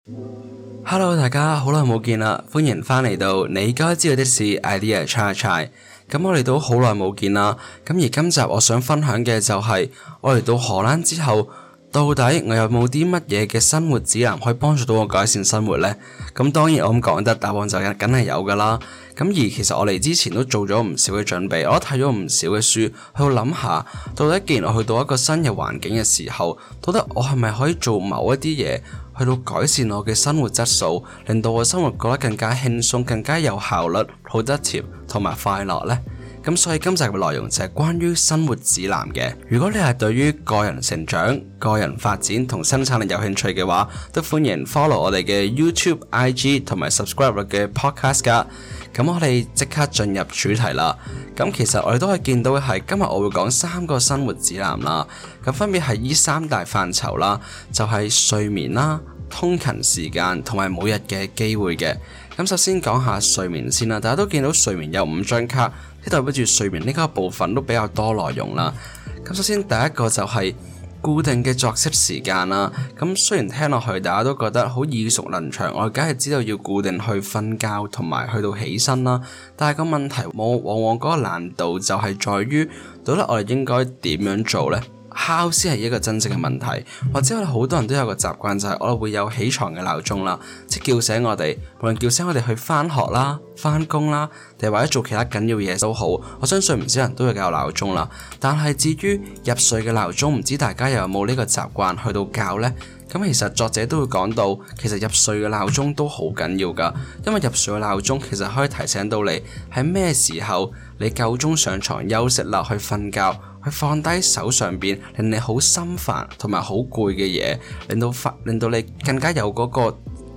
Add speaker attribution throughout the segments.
Speaker 1: Hello， 大家好耐冇見啦，歡迎翻嚟到你該知道的事 idea try try。咁我哋都好耐冇見啦，咁而今集我想分享嘅就係我嚟到荷蘭之後，到底我有冇啲乜嘢嘅生活指南可以幫助到我改善生活呢？咁當然我咁講得，答案就梗係有噶啦。咁而其實我嚟之前都做咗唔少嘅準備，我都睇咗唔少嘅書，去諗下到底既然我去到一個新嘅環境嘅時候，到底我係咪可以做某一啲嘢去到改善我嘅生活質素，令到我生活過得更加輕鬆、更加有效率、productive同埋快樂呢？咁所以今集嘅內容就係關於生活指南嘅。如果你係對於個人成長、個人發展同生產力有興趣嘅話，都歡迎 follow 我哋嘅 YouTube、IG 同埋 subscribe 我嘅 podcast 噶。咁我哋即刻進入主題啦。咁其實我哋都可以見到嘅係，今日我會講3個生活指南啦。咁分別係依3大範疇啦，就係睡眠啦、通勤時間同埋每日嘅機會嘅。咁首先講下睡眠先啦。大家都見到睡眠有5張卡，即代表住睡眠呢個部分都比較多內容啦。咁首先第一個就係固定嘅作息時間啦。咁雖然聽落去大家都覺得好耳熟能詳，我梗係知道要固定去瞓覺同埋去到起身啦。但係個問題往往嗰個難度就係在於，到底我哋應該點樣做呢？How 先係一個真正嘅問題，或者我哋好多人都有個習慣，就係我哋會有起床嘅鬧鐘啦，即係叫醒我哋，無論叫醒我哋去返學啦、返工啦，定係或者做其他緊要嘢都好，我相信唔少人都會有鬧鐘啦。但係至於入睡嘅鬧鐘，唔知大家又有冇呢個習慣去到校呢？咁其實作者都會講到，其實入睡嘅鬧鐘都好緊要㗎，因為入睡嘅鬧鐘其實可以提醒到你喺咩時候你夠鐘上床休息啦，去瞓覺，去放低手上邊令你好心煩同埋好攰嘅嘢，令到你更加有嗰個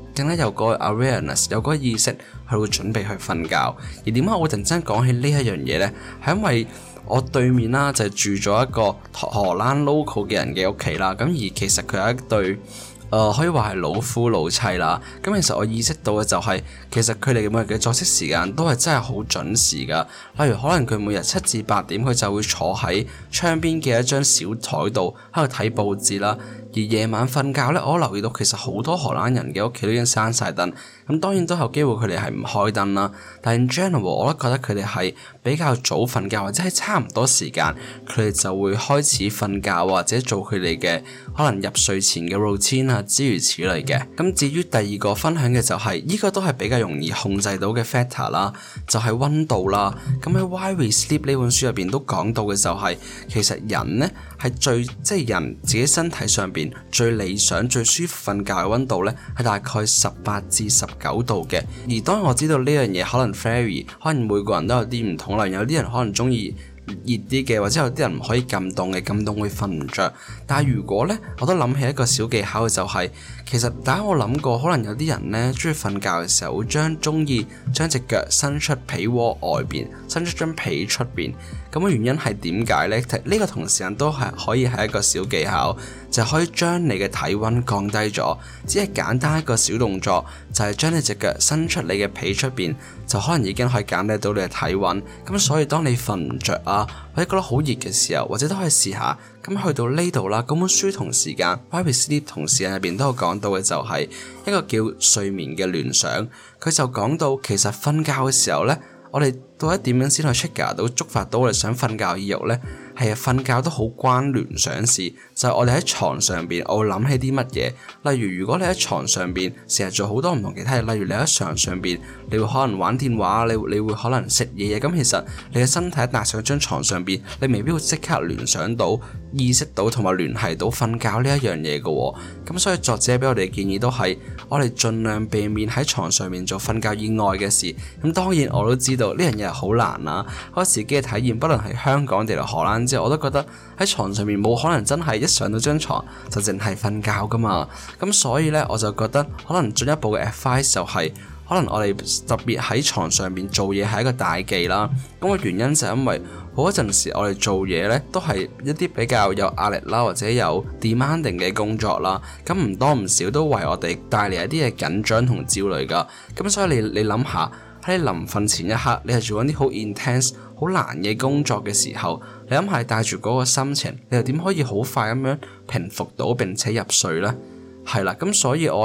Speaker 1: awareness， 有嗰個意識去到準備去瞓覺。而點解我會突然間講起呢一樣嘢呢？係因為我對面啦就住咗一個荷蘭 local 嘅人嘅屋企啦，咁而其實佢有一對可以話係老夫老妻啦。咁其實我意識到嘅就係，其實佢哋每日嘅作息時間都係真係好準時噶。例如可能佢每日7至8點佢就會坐喺窗邊嘅一張小台度喺度睇報紙啦。而夜晚瞓覺呢，我留意到其實好多荷蘭人嘅屋企都已經閂晒燈。咁當然都有機會佢哋係唔開燈啦，但係 in general 我都覺得佢哋係比較早瞓覺，或者係差唔多時間佢哋就會開始瞓覺，或者做佢哋嘅可能入睡前嘅 routine 啊，諸如此類嘅。咁至於第二個分享嘅就係呢個都係比較容易控制到嘅 factor 啦，就係溫度啦。咁喺 Why We Sleep 呢本書入邊都講到嘅就係，其實人呢係即係人自己身體上邊最理想最舒服瞓覺嘅溫度呢係大概18至19度嘅。而當然我知道呢樣嘢可能 vary， 可能每個人都有啲唔同啦。有啲人可能中意熱啲嘅，或者有啲人唔可以咁凍嘅，咁凍會瞓唔着。但係如果呢，我都諗起一個小技巧嘅就係，其實大家有冇諗過，可能有啲人呢中意瞓覺嘅時候會中意將隻腳伸出被窩外邊，伸出張被出邊。咁嘅原因係點解呢？呢個同時間都係可以係一個小技巧，就可以將你嘅體溫降低咗。只係簡單一個小動作，就係將你隻腳伸出你嘅被出邊，就可能已經可以減低到你嘅體溫。咁所以當你瞓唔着啊，或者覺得好熱嘅時候，或者都可以試下。咁去到呢度啦，嗰本書同時間 Why We Sleep 同時間入邊都有講到嘅就係一個叫睡眠嘅聯想。佢就講到其實瞓覺嘅時候呢，我哋到底點樣先去 trigger 到觸發到我哋想瞓覺意欲呢？係啊，瞓覺都好關聯想事，就係我哋喺床上邊，我會諗起啲乜嘢。例如果你喺床上邊成日做好多唔同其他嘢，例如你喺床上邊，你會可能玩電話，你會可能食嘢。咁其實你嘅身體一搭上張床上邊，你未必會即刻聯想到、意識到同埋聯繫到瞓覺呢一樣嘢嘅。咁所以作者俾我哋嘅建議都係，我哋盡量避免喺床上面做瞓覺以外嘅事。咁當然我都知道呢樣嘢係好難啦。我自己嘅體驗，不論係香港定係荷蘭之後，我都覺得喺床上面冇可能真係一上到張床就淨係瞓覺噶嘛。咁所以呢，我就覺得可能進一步嘅 advice 就係，可能我哋特別喺床上面做嘢係一個大忌啦。咁個原因就係因為好多陣時我哋做嘢呢都係一啲比較有壓力啦，或者有 demanding 嘅工作啦。咁唔多唔少都為我哋帶嚟一啲嘅緊張同焦慮噶。咁所以你諗下，喺你臨瞓前一刻，你係做緊啲好 intense、好難嘅工作嘅時候，你諗下帶住嗰個心情，你又點可以好快咁樣平復到並且入睡呢？係啦，咁所以我覺得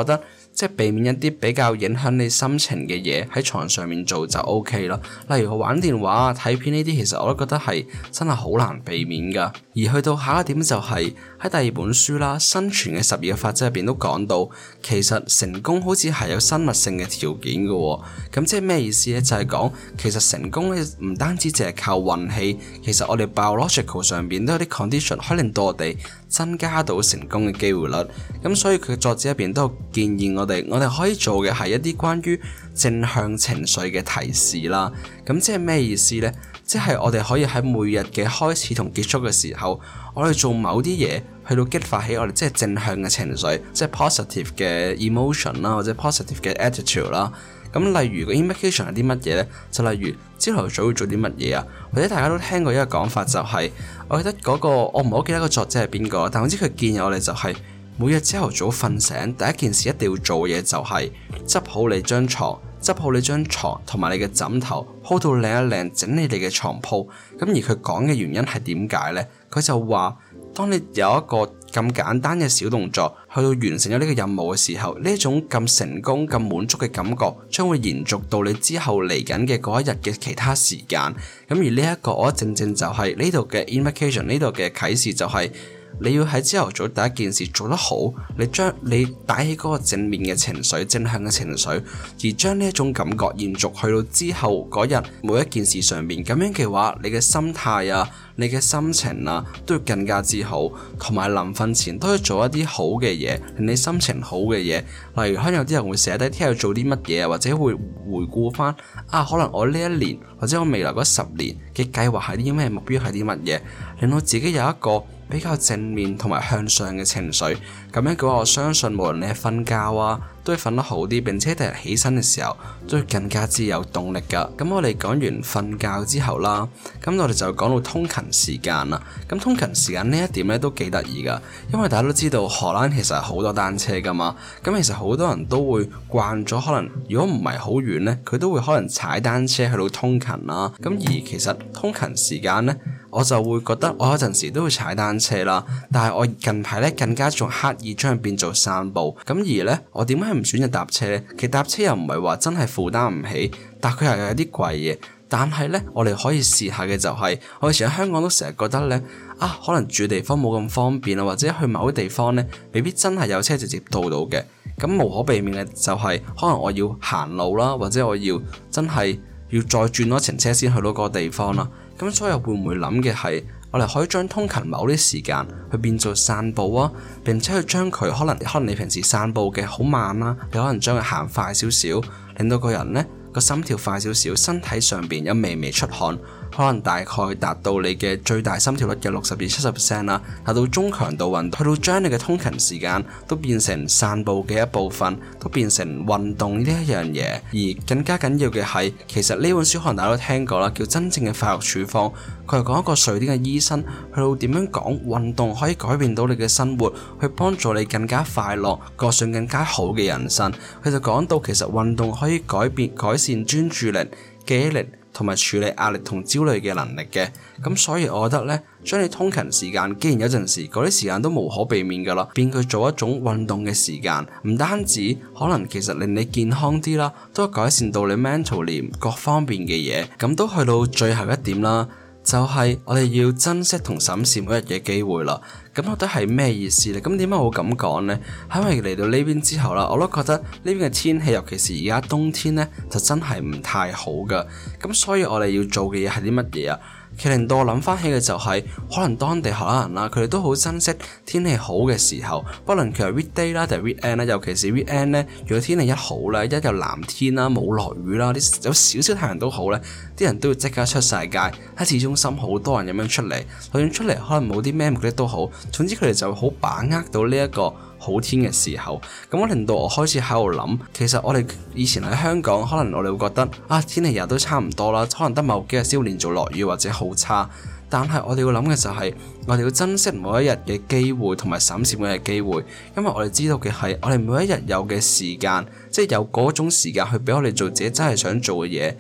Speaker 1: 即係避免一啲比較影響你心情嘅嘢喺床上面做就 OK 啦。例如玩電話啊、睇片呢啲，其實我都覺得係真係好難避免噶。而去到下一點就係喺第二本書啦，《生存嘅12個法則》入邊都講到，其實成功好似係有生物性嘅條件嘅喎。咁即係咩意思呢？就係講其實成功咧唔單止淨係靠運氣，其實我哋 biological 上邊都有啲 condition 可以令到我哋增加到成功嘅機會率。咁所以佢作者入邊都有建議我哋可以做嘅係一啲關於正向情緒嘅提示啦。咁即係咩意思呢？即係我哋可以喺每日嘅開始同結束嘅時候，我哋做某啲嘢去到激發起我哋即係正向嘅情緒，即係 positive 嘅 emotion 啦，或者 positive 嘅 attitude 啦。咁例如個 invocation 係啲乜嘢呢？就例如朝頭早要做啲乜嘢啊？或者大家都聽過一個講法就係，我記得嗰個我唔係好記得個作者係邊個，但我知佢建議我哋就係每日朝頭早瞓醒第一件事一定要做嘅嘢就係執好你張床同埋你嘅枕頭，鋪到靚一靚，整理你嘅床鋪。咁而佢講嘅原因係點解呢？佢就話，當你有一個咁簡單嘅小動作去到完成咗呢個任務嘅時候，呢一種咁成功、咁滿足嘅感覺將會延續到你之後嚟緊嘅嗰一日嘅其他時間。咁而呢一個我覺得正就係呢度嘅 invocation， 呢度嘅啟示就係你要喺朝頭早第一件事做得好，你帶起嗰個正面嘅情緒、正向嘅情緒，而將呢一種感覺延續去到之後嗰日每一件事上面。咁樣嘅話，你嘅心態啊、你嘅心情啊都要更加之好，同埋臨瞓前都要做一啲好嘅嘢，令你心情好嘅嘢。例如可能有啲人會寫低聽日做啲乜嘢啊，或者會回顧翻可能我呢一年或者我未來嗰10年嘅計劃係啲咩，目標係啲乜嘢，令到自己有一個比較正面同埋向上嘅情緒。咁樣嘅話，我相信無論你係瞓覺啊，都會瞓得好啲，並且第日起身嘅時候都會更加之有動力噶。咁我哋講完瞓覺之後啦，咁我哋就講到通勤時間啦。咁通勤時間呢一點咧都幾得意噶，因為大家都知道荷蘭其實係好多單車噶嘛。咁其實好多人都會慣咗，可能如果唔係好遠呢，佢都會可能踩單車去到通勤啦。咁而其實通勤時間呢，我就會覺得我有陣時都會踩單車啦，但係我近排咧更加仲刻意將佢變做散步。咁而咧，我點解唔選擇搭車呢？其實搭車又唔係話真係負擔唔起，但佢又有啲貴嘅。但係咧，我哋可以試下嘅就係，我以前喺香港都成日覺得咧，可能住地方冇咁方便啊，或者去某啲地方咧，未必真係有車直接到嘅。咁無可避免嘅就係，可能我要行路啦，或者我要真係要再轉多程車先去到嗰個地方啦。咁所以會唔會諗嘅係，我哋可以將通勤某啲時間去變做散步啊，並且去將佢可能你平時散步嘅好慢啦，你可能將佢行快少少，令到個人呢個心跳快少少，身體上邊有微微出汗，可能大概達到你嘅最大心跳率嘅60至70% 啦，達到中強度運動，去到將你嘅通勤時間都變成散步嘅一部分，都變成運動呢一樣嘢。而更加緊要嘅係，其實呢本書可能大家都聽過啦，叫真正嘅快樂處方。佢係講一個瑞典嘅醫生去到點樣講運動可以改變到你嘅生活，去幫助你更加快樂，過上更加好嘅人生。佢就講到其實運動可以改善專注力、記憶力同埋處理壓力同焦慮嘅能力嘅。咁所以我覺得呢，將你通勤時間，既然有陣時嗰啲時間都無可避免噶啦，變佢做一種運動嘅時間，唔單止可能其實令你健康啲啦，都改善到你 mentally 各方面嘅嘢。咁都去到最後一點啦，就係我哋要珍惜同審視每日嘅機會啦。咁我覺得係咩意思呢？咁點解我會咁講呢？係因為嚟到呢邊之後啦，我都覺得呢邊嘅天氣，尤其是而家冬天呢，就真係唔太好噶。咁所以我哋要做嘅嘢係啲乜嘢啊？其實令到我諗翻起嘅就係，可能當地荷蘭人啦，佢哋都好珍惜天氣好嘅時候，不論佢係 weekday 啦定係 weekend 啦，尤其是 weekend 呢，如果天氣一好咧，一有藍天啦，冇落雨啦，有少少太陽都好咧，啲人都會即刻出晒街，喺市中心好多人咁樣出嚟，就算出嚟可能冇啲咩目的都好，總之佢哋就好把握到呢一個好天嘅時候。咁我令到我開始喺度諗，其實我哋以前喺香港，可能我哋會覺得天氣日都差唔多啦，可能得某幾日先會連續落雨或者好差。但係我哋要諗嘅就係，我哋要珍惜每一日嘅機會同埋審視每一日嘅機會，因為我哋知道嘅係，我哋每一日有嘅時間，即係有嗰種時間去俾我哋做自己真係想做嘅嘢，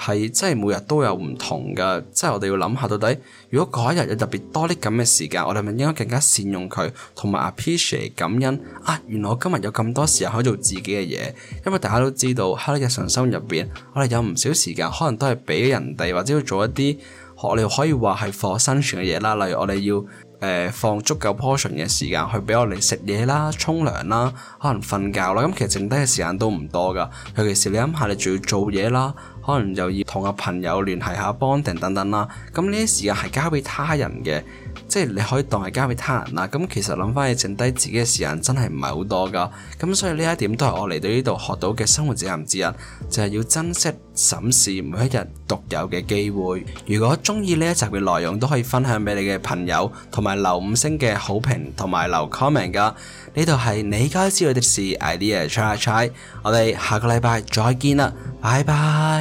Speaker 1: 係真係每日都有唔同㗎，即係我哋要諗下到底，如果嗰一日有特別多啲咁嘅時間，我哋咪應該更加善用佢，同埋 appreciate 感恩啊！原來我今日有咁多時間可以做自己嘅嘢，因為大家都知道喺日常生活入邊，我哋有唔少時間可能都係俾人哋或者要做一啲我哋可以話係for生存嘅嘢啦，例如我哋要放足夠 portion 嘅時間去俾我哋食嘢啦、沖涼啦、可能瞓覺啦，咁其實剩低嘅時間都唔多噶。尤其是你諗下，你仲要做嘢啦，可能又要同個朋友聯繫下 bonding 等等啦，咁呢啲時間係交俾他人嘅，即係你可以當係交俾他人啦。咁其實諗翻起剩低自己嘅時間真係唔係好多噶。咁所以呢一點都係我嚟到呢度學到嘅生活責任之一，就係要珍惜審視每一日獨有嘅機會。如果中意呢一集嘅內容，都可以分享俾你嘅朋友，同埋留5星嘅好評，同埋留 comment 噶。呢度係你該知道的事 idea try， 我哋下個禮拜再見啦，拜拜。